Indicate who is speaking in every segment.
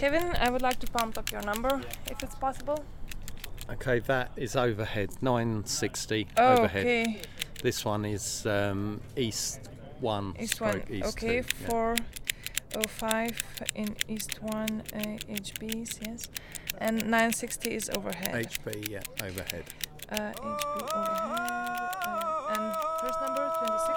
Speaker 1: Kevin, I would like to pump up your number, if it's possible.
Speaker 2: Okay, that is overhead, 960
Speaker 1: Oh,
Speaker 2: overhead.
Speaker 1: okay.
Speaker 2: This one is East 1.
Speaker 1: East 1,
Speaker 2: East
Speaker 1: okay,
Speaker 2: 2, yeah.
Speaker 1: 405 in East 1 HBs, yes. And 960 is overhead.
Speaker 2: HB, yeah, overhead.
Speaker 1: HB overhead. And first number, 26.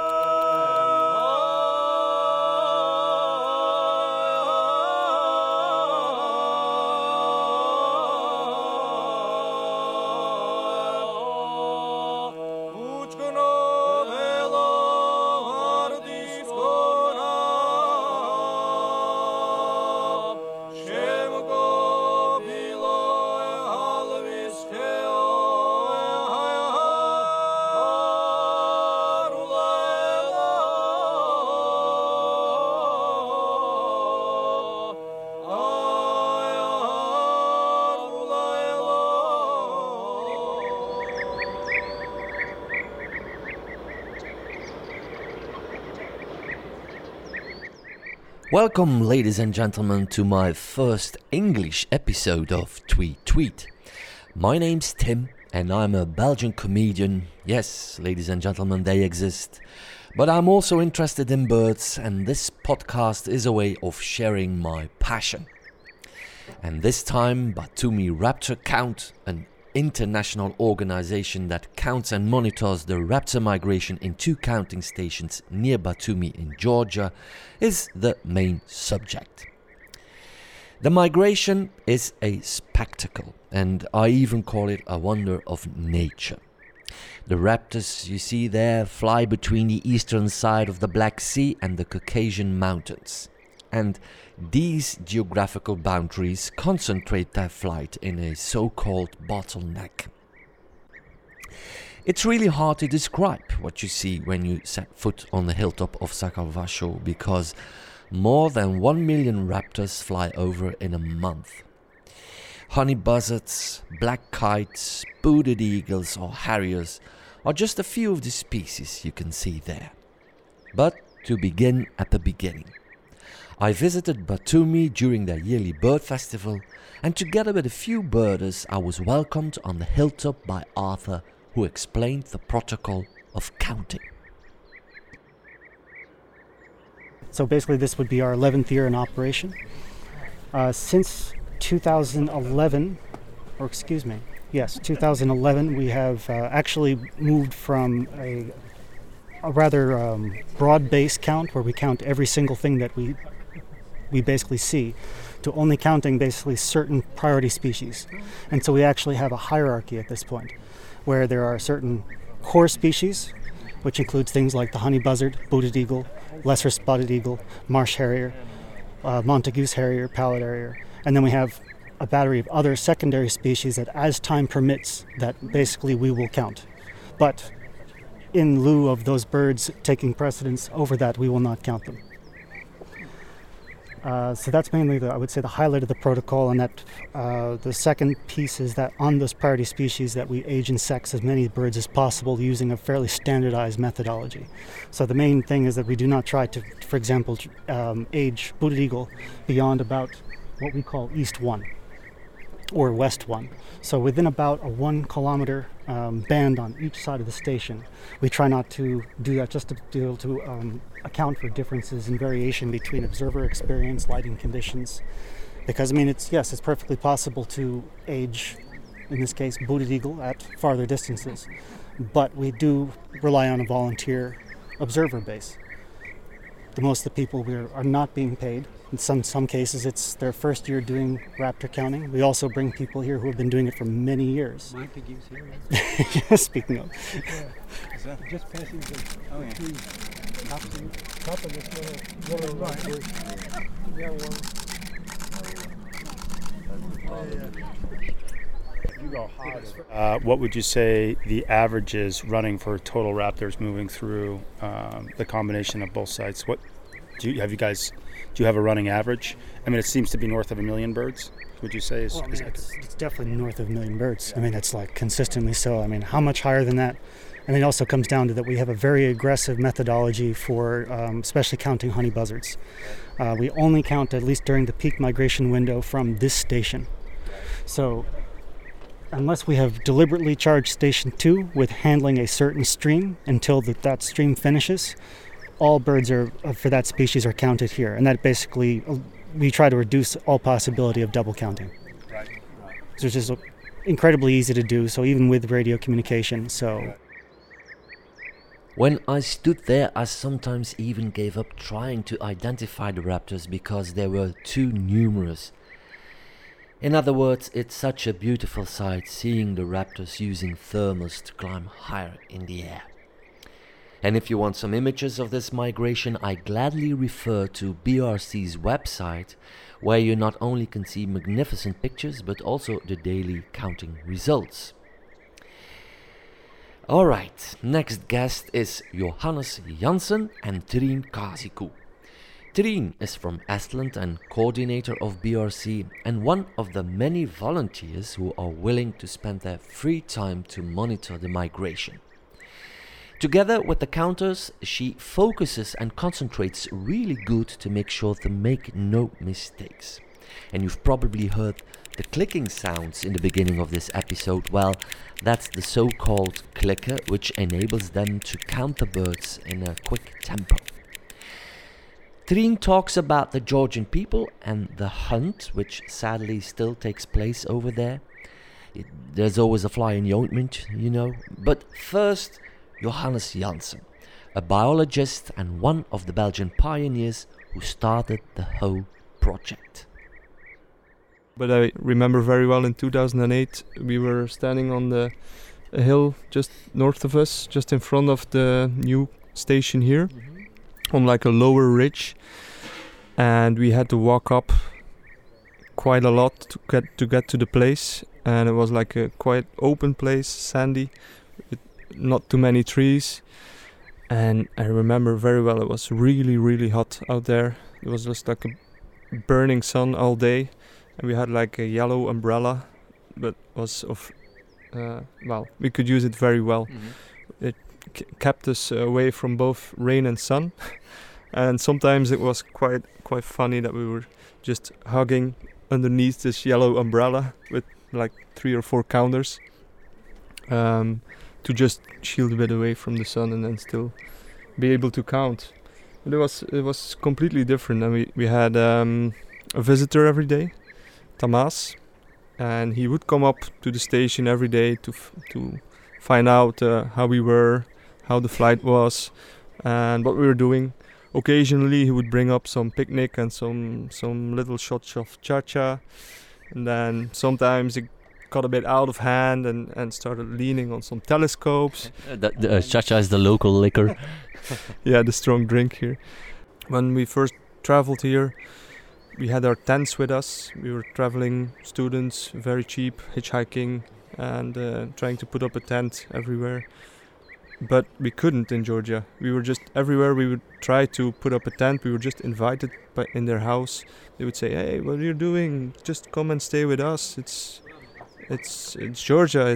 Speaker 3: Welcome, ladies and gentlemen, to my first English episode of Tweet Tweet. My name's Tim, and I'm a Belgian comedian. Yes, ladies and gentlemen, they exist. But I'm also interested in birds, and this podcast is a way of sharing my passion. And this time, Batumi Raptor Count, an international organization that counts and monitors the raptor migration in 2 counting stations near Batumi in Georgia, is the main subject. The migration is a spectacle, and I even call it a wonder of nature. The raptors you see there fly between the eastern side of the Black Sea and the Caucasian Mountains. And these geographical boundaries concentrate their flight in a so-called bottleneck. It's really hard to describe what you see when you set foot on the hilltop of Sacalvacho, because more than 1 million raptors fly over in a month. Honey buzzards, black kites, booted eagles or harriers are just a few of the species you can see there. But to begin at the beginning. I visited Batumi during their yearly bird festival, and together with a few birders I was welcomed on the hilltop by Arthur, who explained the protocol of counting.
Speaker 4: So basically this would be our 11th year in operation. Since 2011, 2011, we have actually moved from a rather broad-based count, where we count every single thing that we basically see, to only counting basically certain priority species. And so we actually have a hierarchy at this point, where there are certain core species, which includes things like the honey buzzard, booted eagle, lesser spotted eagle, marsh harrier, Montagu's harrier, pallid harrier, and then we have a battery of other secondary species that, as time permits, that basically we will count. But in lieu of those birds taking precedence over that, we will not count them. So that's mainly, I would say, the highlight of the protocol, and that the second piece is that on those priority species that we age and sex as many birds as possible using a fairly standardized methodology. So the main thing is that we do not try to, for example, age booted eagle beyond about what we call East 1 or West 1. So within about a 1 kilometer band on each side of the station. We try not to do that, just to be able to account for differences in variation between observer experience, lighting conditions. Because it's perfectly possible to age, in this case, booted eagle at farther distances. But we do rely on a volunteer observer base. Most of the people are not being paid. In some cases, it's their first year doing raptor counting. We also bring people here who have been doing it for many years.
Speaker 5: Montagu's here.
Speaker 4: Speaking of.
Speaker 5: Yeah. Is that just passing the tree?
Speaker 6: Top of this little right. Yeah, you go harder.
Speaker 7: What would you say the average is running for total raptors moving through the combination of both sites? What do you have a running average? I mean, it seems to be north of 1 million birds. Would you say
Speaker 4: it's definitely north of 1 million birds. Yeah. It's like consistently so. How much higher than that? And it also comes down to that we have a very aggressive methodology for especially counting honey buzzards. We only count, at least during the peak migration window, from this station. So unless we have deliberately charged station 2 with handling a certain stream until that stream finishes, all birds for that species are counted here. And that basically, we try to reduce all possibility of double counting.
Speaker 7: Right.
Speaker 4: So it's just incredibly easy to do, so even with radio communication. So
Speaker 3: When I stood there, I sometimes even gave up trying to identify the raptors because they were too numerous. In other words, it's such a beautiful sight seeing the raptors using thermals to climb higher in the air. And if you want some images of this migration, I gladly refer to BRC's website, where you not only can see magnificent pictures, but also the daily counting results. Alright, next guest is Johannes Janssen and Trien Kasiku. Trien is from Estland and coordinator of BRC and one of the many volunteers who are willing to spend their free time to monitor the migration. Together with the counters, she focuses and concentrates really good to make sure to make no mistakes. And you've probably heard the clicking sounds in the beginning of this episode. Well, that's the so-called clicker, which enables them to count the birds in a quick tempo. Trien talks about the Georgian people and the hunt, which sadly still takes place over there. There's always a fly in the ointment, you know. But first, Johannes Janssen, a biologist and one of the Belgian pioneers who started the whole project.
Speaker 8: But I remember very well in 2008 we were standing on a hill just north of us, just in front of the new station here, on like a lower ridge, and we had to walk up quite a lot to get to the place, and it was like a quite open place, sandy, with not too many trees. And I remember very well it was really, really hot out there. It was just like a burning sun all day. And we had like a yellow umbrella, but was of, we could use it very well. It kept us away from both rain and sun. And sometimes it was quite funny that we were just hugging underneath this yellow umbrella with like 3 or 4 counters to just shield a bit away from the sun and then still be able to count. But it was completely different, and we had a visitor every day, Tamas, and he would come up to the station every day to find out how we were, how the flight was, and what we were doing. Occasionally he would bring up some picnic and some little shots of cha-cha, and then sometimes it got a bit out of hand and started leaning on some telescopes.
Speaker 3: The cha-cha is the local liquor.
Speaker 8: Yeah, the strong drink here. When we first traveled here, we had our tents with us. We were traveling students, very cheap, hitchhiking, and trying to put up a tent everywhere. But we couldn't in Georgia. We were just everywhere we would try to put up a tent. We were just invited in their house. They would say, "Hey, what are you doing? Just come and stay with us. It's Georgia.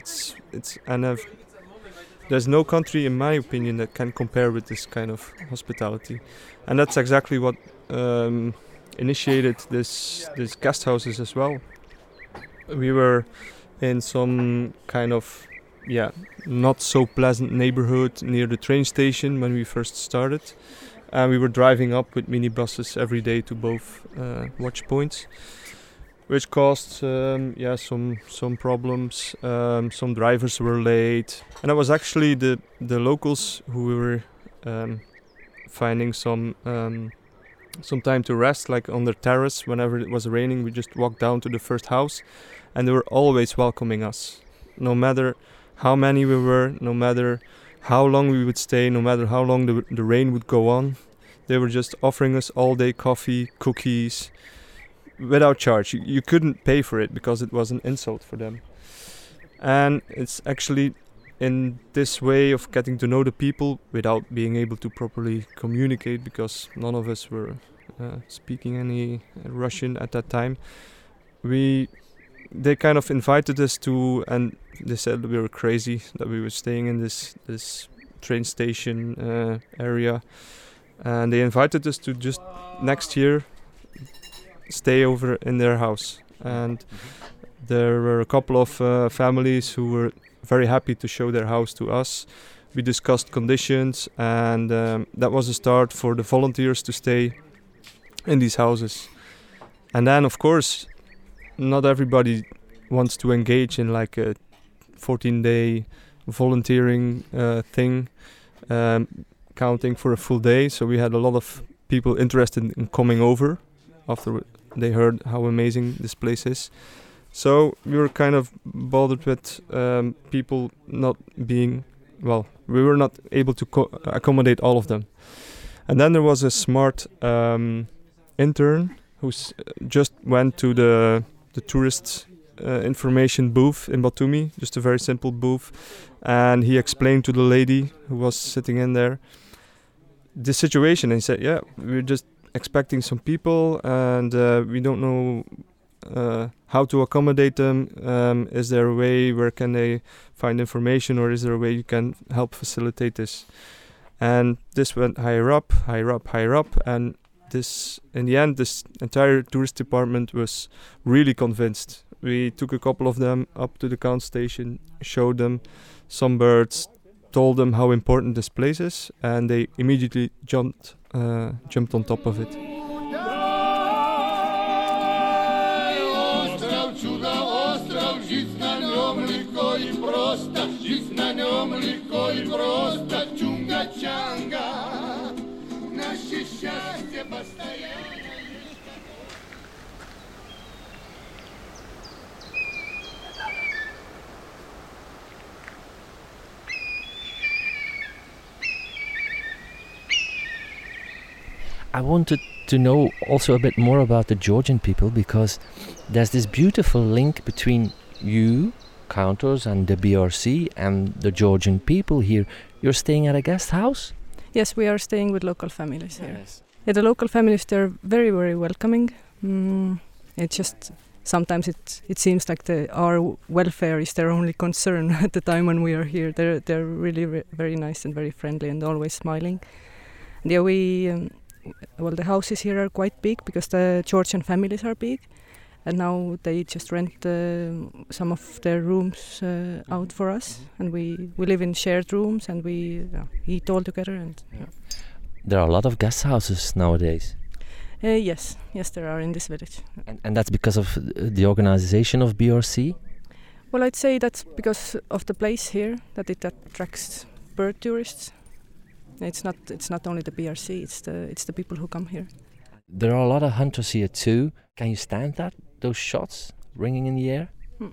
Speaker 8: There's no country, in my opinion, that can compare with this kind of hospitality." And that's exactly what initiated these guest houses as well. We were in some kind of not so pleasant neighborhood near the train station when we first started, and we were driving up with minibuses every day to both watch points, which caused some problems. Some drivers were late, and it was actually the locals who we were finding some time to rest, like on the terrace. Whenever it was raining, we just walked down to the first house, and they were always welcoming us, no matter how many we were, no matter how long we would stay, no matter how long the rain would go on. They were just offering us all day coffee, cookies, without charge. You couldn't pay for it because it was an insult for them. And it's actually in this way of getting to know the people without being able to properly communicate, because none of us were speaking any Russian at that time. We they kind of invited us to, and they said we were crazy that we were staying in this train station area, and they invited us to just next year stay over in their house. And there were a couple of families who were very happy to show their house to us. We discussed conditions, and that was a start for the volunteers to stay in these houses. And then, of course, not everybody wants to engage in like a 14-day volunteering thing, counting for a full day. So we had a lot of people interested in coming over after they heard how amazing this place is. So we were kind of bothered with people not being, well, we were not able to accommodate all of them. And then there was a smart intern who just went to the tourist information booth in Batumi, just a very simple booth, and he explained to the lady who was sitting in there the situation, and he said, yeah, we're just expecting some people, and we don't know how to accommodate them. Is there a way where can they find information, or is there a way you can help facilitate this? And this went higher up, and this, in the end, this entire tourist department was really convinced. We took a couple of them up to the count station, showed them some birds, told them how important this place is, and they immediately jumped on top of it.
Speaker 3: I wanted to know also a bit more about the Georgian people, because there's this beautiful link between you, counters, and the BRC and the Georgian people here. You're staying at a guest house?
Speaker 9: Yes, we are staying with local families here. Yes. Yeah, the local families, they're very, very welcoming. It just sometimes it seems like our welfare is their only concern at the time when we are here. They're really very nice and very friendly and always smiling. And yeah, well, the houses here are quite big because the Georgian families are big, and now they just rent some of their rooms out for us, and we live in shared rooms, and we eat all together. And
Speaker 3: there are a lot of guest houses nowadays.
Speaker 9: Yes, there are in this village.
Speaker 3: And that's because of the organization of BRC?
Speaker 9: Well, I'd say that's because of the place here, that it attracts bird tourists. It's not only the BRC, it's the people who come here.
Speaker 3: There are a lot of hunters here too. Can you stand those shots ringing in the air?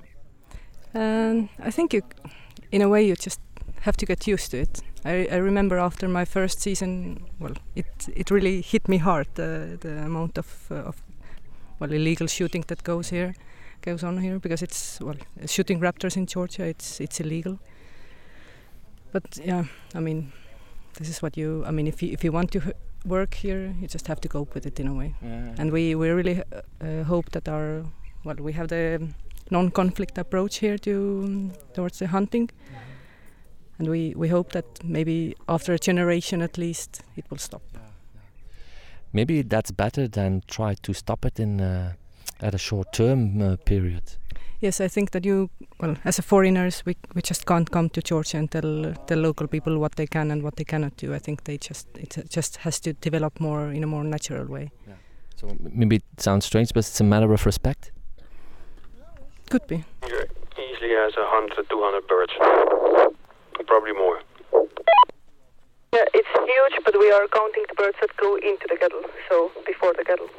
Speaker 9: I think in a way you just have to get used to it. I remember after my first season, well, it really hit me hard, the amount of illegal shooting that goes on here, because it's shooting raptors in Georgia, it's illegal. But yeah, I mean, this is what if you want to work here, you just have to cope with it in a way. Yeah. And we really hope that we have the non-conflict approach here towards the hunting. Mm-hmm. And we hope that maybe after a generation at least it will stop. Yeah.
Speaker 3: Maybe that's better than try to stop it at a short-term period.
Speaker 9: Yes, I think that as a foreigners, we just can't come to Georgia and tell local people what they can and what they cannot do. I think it just has to develop more in a more natural way. Yeah.
Speaker 3: So maybe it sounds strange, but it's a matter of respect?
Speaker 9: Could be.
Speaker 10: Here easily has 100, 200 birds, probably more.
Speaker 11: Yeah, it's huge, but we are counting the birds that go into the kettle, so before the kettle.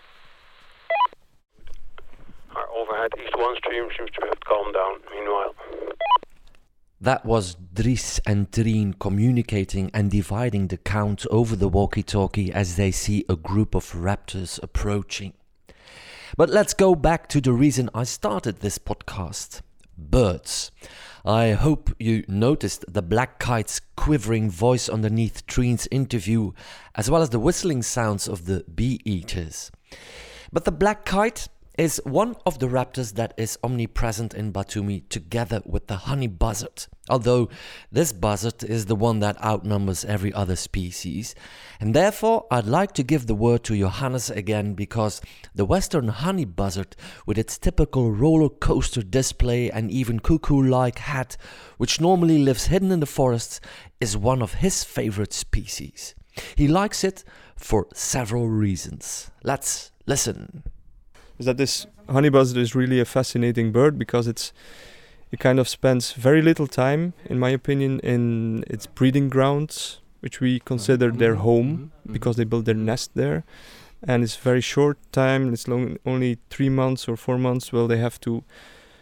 Speaker 10: Our overhead East 1 stream seems to have calmed down meanwhile.
Speaker 3: That was Dries and Trien communicating and dividing the count over the walkie-talkie as they see a group of raptors approaching. But let's go back to the reason I started this podcast. Birds. I hope you noticed the black kite's quivering voice underneath Trien's interview, as well as the whistling sounds of the bee-eaters. But the black kite is one of the raptors that is omnipresent in Batumi together with the honey buzzard. Although this buzzard is the one that outnumbers every other species. And therefore I'd like to give the word to Johannes again, because the western honey buzzard, with its typical roller coaster display and even cuckoo-like hat, which normally lives hidden in the forests, is one of his favorite species. He likes it for several reasons. Let's listen.
Speaker 8: Is that this honey buzzard is really a fascinating bird because it kind of spends very little time, in my opinion, in its breeding grounds, which we consider their home because they build their nest there. And it's very short time, it's only 3 months or 4 months. Well, they have to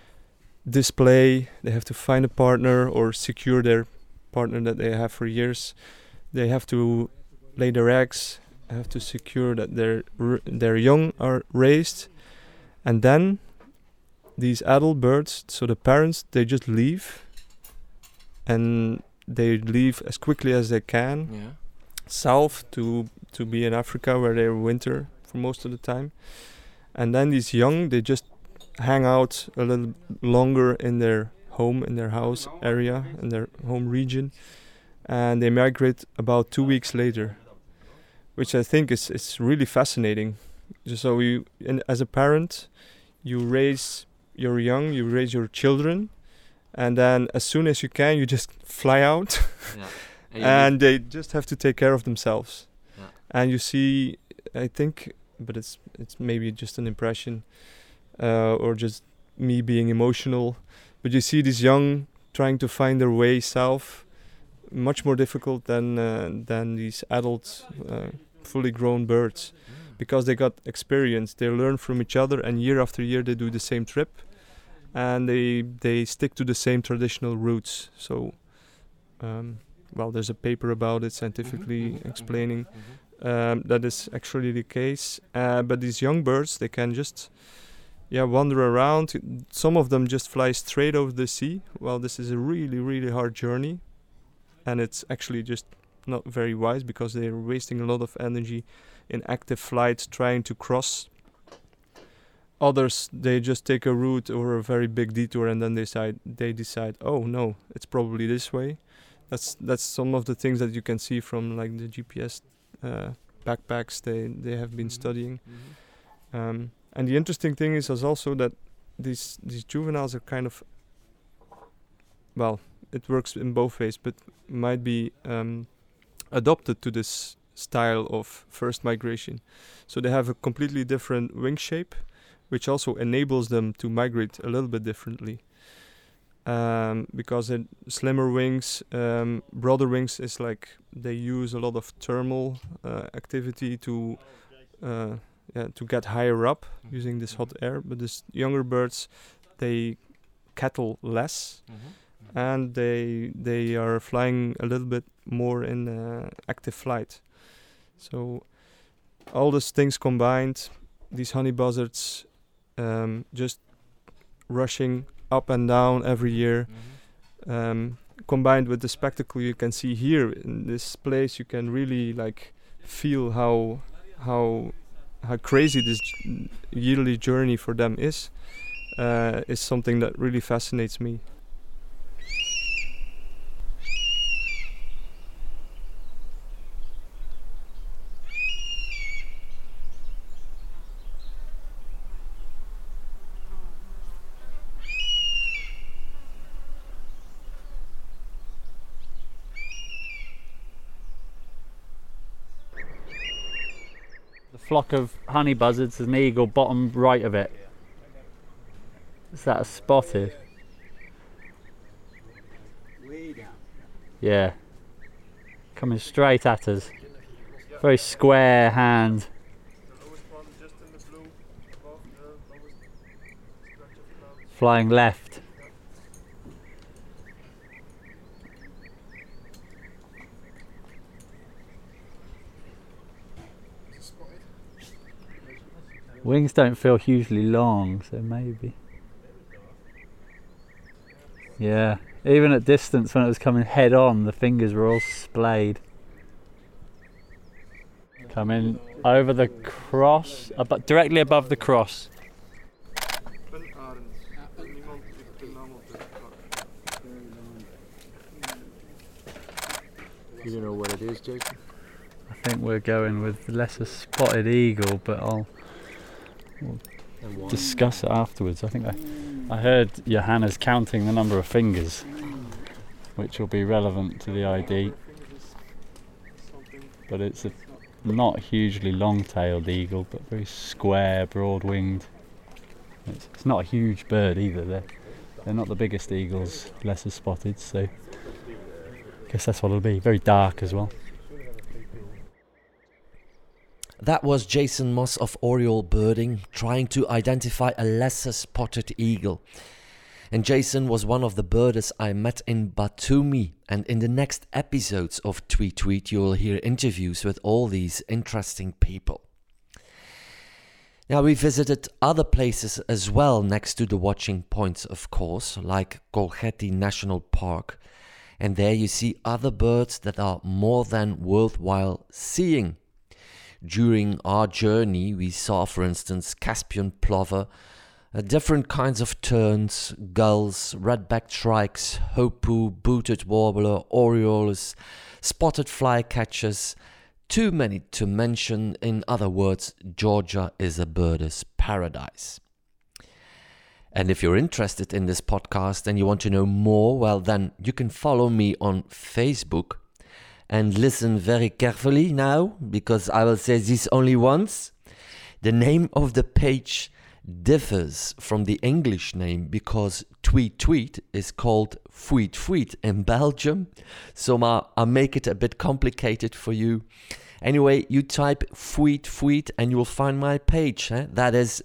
Speaker 8: display, they have to find a partner or secure their partner that they have for years. They have to lay their eggs, have to secure that their young are raised. And then these adult birds, so the parents, they just leave, and they leave as quickly as they can south to be in Africa, where they winter for most of the time. And then these young, they just hang out a little longer in their home, in their house area, in their home region, and they migrate about 2 weeks later, which I think is really fascinating. So as a parent, you raise your young, you raise your children, and then as soon as you can, you just fly out, and they just have to take care of themselves. And you see, I think, but it's maybe just an impression, or just me being emotional, but you see these young trying to find their way south, much more difficult than these adult, fully grown birds. Because they got experience, they learn from each other, and year after year they do the same trip, and they stick to the same traditional routes. So, there's a paper about it scientifically explaining that is actually the case. But these young birds, they can just wander around. Some of them just fly straight over the sea. Well, this is a really, really hard journey, and it's actually just not very wise because they're wasting a lot of energy in active flight trying to cross. Others, they just take a route or a very big detour, and then they decide, oh no, it's probably this way. That's some of the things that you can see from like the GPS backpacks they have been studying. And the interesting thing is also that these juveniles are kind of, it works in both ways, but might be adopted to this style of first migration. So they have a completely different wing shape, which also enables them to migrate a little bit differently. Because slimmer wings, broader wings is like they use a lot of thermal activity to get higher up using this hot air. But these younger birds, they kettle less, and they are flying a little bit more in active flight. So all these things combined, these honey buzzards just rushing up and down every year, combined with the spectacle you can see here in this place, you can really like feel how crazy this yearly journey for them is something that really fascinates me.
Speaker 12: Flock of honey buzzards, there's an eagle bottom right of it. Is that a spotted?
Speaker 5: Way down.
Speaker 12: Yeah. Coming straight at us. Very square hand. Flying left. Wings don't feel hugely long, so maybe. Yeah, even at distance when it was coming head on, the fingers were all splayed. Coming over the cross, directly above the cross.
Speaker 3: Do you know what it is, Jason?
Speaker 12: I think we're going with lesser spotted eagle, but we'll discuss it afterwards. I think I heard Johanna's counting the number of fingers, which will be relevant to the ID. But it's a not hugely long-tailed eagle, but very square, broad-winged. It's not a huge bird either. They're not the biggest eagles, lesser spotted, so I guess that's what it'll be. Very dark as well.
Speaker 3: That was Jason Moss of Oriole Birding trying to identify a lesser spotted eagle. And Jason was one of the birders I met in Batumi. And in the next episodes of Tweet Tweet, you will hear interviews with all these interesting people. Now, we visited other places as well next to the watching points, of course, like Colgety National Park. And there you see other birds that are more than worthwhile seeing. During our journey, we saw, for instance, Caspian plover, different kinds of terns, gulls, red-backed shrikes, hoopoe, booted warbler, orioles, spotted flycatchers. Too many to mention. In other words, Georgia is a birder's paradise. And if you're interested in this podcast and you want to know more, well, then you can follow me on Facebook. And listen very carefully now, because I will say this only once. The name of the page differs from the English name because Tweet Tweet is called Fweet Fweet in Belgium. So I'll make it a bit complicated for you. Anyway, you type Fweet Fweet and you will find my page. That is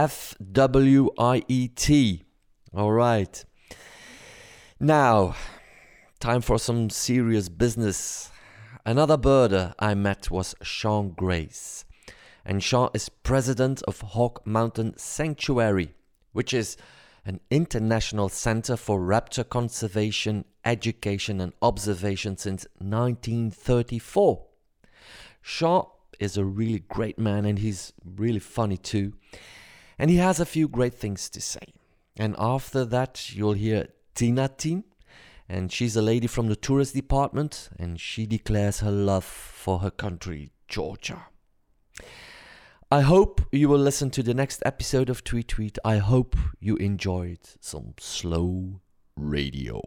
Speaker 3: FWIET. All right. Now, time for some serious business. Another birder I met was Sean Grace. And Sean is president of Hawk Mountain Sanctuary, which is an international center for raptor conservation, education and observation since 1934. Sean is a really great man and he's really funny too. And he has a few great things to say. And after that you'll hear Tina Team. And she's a lady from the tourist department and she declares her love for her country, Georgia. I hope you will listen to the next episode of Tweet Tweet. I hope you enjoyed some slow radio.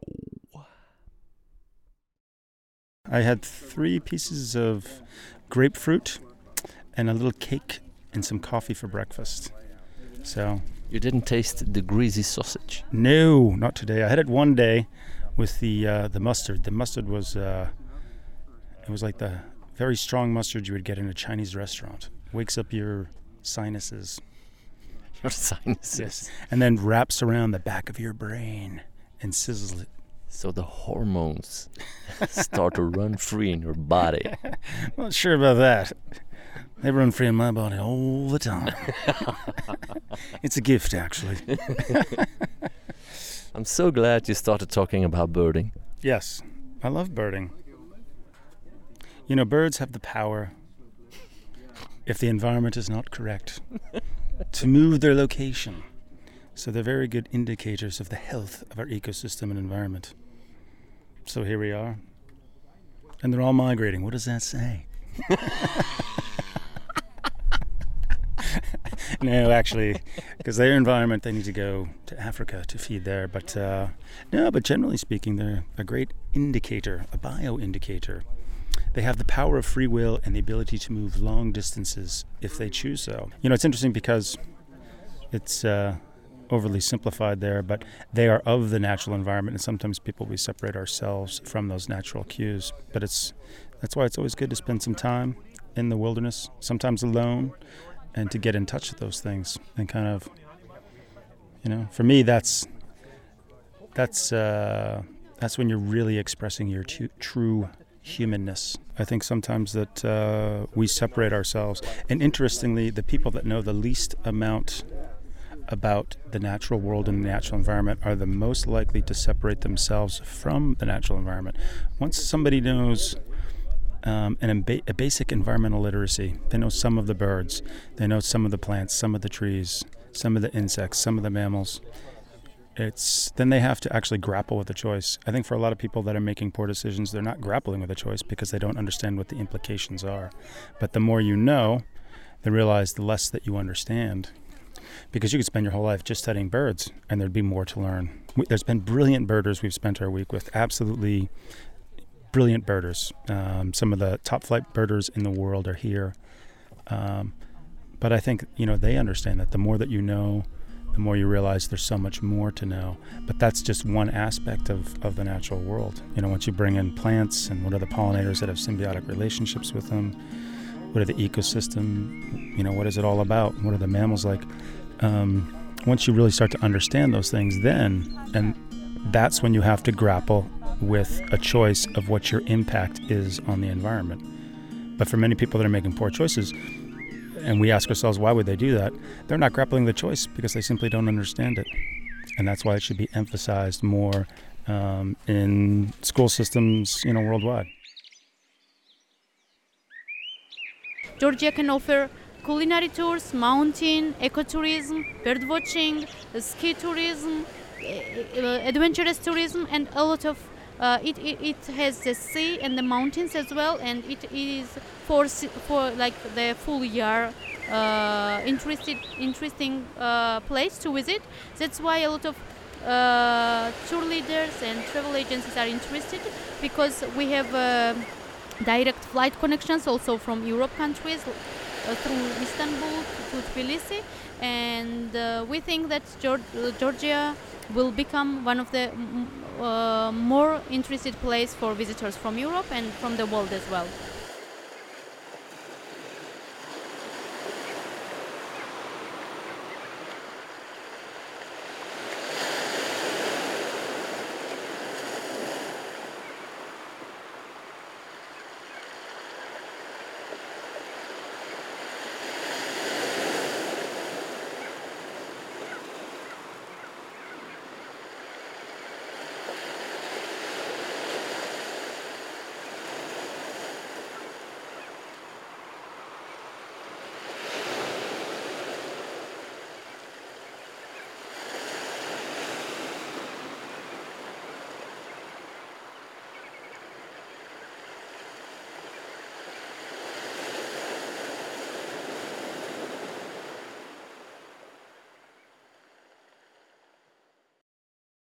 Speaker 7: I had 3 pieces of grapefruit and a little cake and some coffee for breakfast. So
Speaker 3: you didn't taste the greasy sausage?
Speaker 7: No, not today. I had it one day with the mustard. The mustard was it was like the very strong mustard you would get in a Chinese restaurant. Wakes up your sinuses.
Speaker 3: Your sinuses?
Speaker 7: Yes. And then wraps around the back of your brain and sizzles it.
Speaker 3: So the hormones start to run free in your body.
Speaker 7: Not sure about that. They run free in my body all the time. It's a gift, actually.
Speaker 3: I'm so glad you started talking about birding.
Speaker 7: Yes, I love birding. You know, birds have the power, if the environment is not correct, to move their location. So they're very good indicators of the health of our ecosystem and environment. So here we are. And they're all migrating. What does that say? No, actually, because their environment, they need to go to Africa to feed there. But but generally speaking, they're a great indicator, a bio-indicator. They have the power of free will and the ability to move long distances if they choose so. You know, it's interesting because it's overly simplified there, but they are of the natural environment, and sometimes we separate ourselves from those natural cues. But that's why it's always good to spend some time in the wilderness, sometimes alone, and to get in touch with those things and kind of, you know, for me that's when you're really expressing your true humanness. I think sometimes that we separate ourselves, and interestingly, the people that know the least amount about the natural world and the natural environment are the most likely to separate themselves from the natural environment. Once somebody knows a basic environmental literacy, they know some of the birds, they know some of the plants, some of the trees, some of the insects, some of the mammals. then they have to actually grapple with the choice. I think for a lot of people that are making poor decisions, they're not grappling with the choice because they don't understand what the implications are. But the more you know, they realize the less that you understand. Because you could spend your whole life just studying birds and there'd be more to learn. There's been brilliant birders we've spent our week with, absolutely brilliant birders. Some of the top flight birders in the world are here. But I think, they understand that the more that you know, the more you realize there's so much more to know. But that's just one aspect of the natural world. Once you bring in plants and what are the pollinators that have symbiotic relationships with them, what are the ecosystem, what is it all about? What are the mammals like? Once you really start to understand those things, and that's when you have to grapple with a choice of what your impact is on the environment. But for many people that are making poor choices, and we ask ourselves, why would they do that? They're not grappling the choice because they simply don't understand it. And that's why it should be emphasized more in school systems, worldwide.
Speaker 13: Georgia can offer culinary tours, mountain, ecotourism, birdwatching, ski tourism, adventurous tourism, and a lot of it has the sea and the mountains as well, and it is for like the full year interesting place to visit. That's why a lot of tour leaders and travel agencies are interested, because we have direct flight connections also from Europe countries through Istanbul to Tbilisi, and we think that Georgia will become one of the more interested place for visitors from Europe and from the world as well.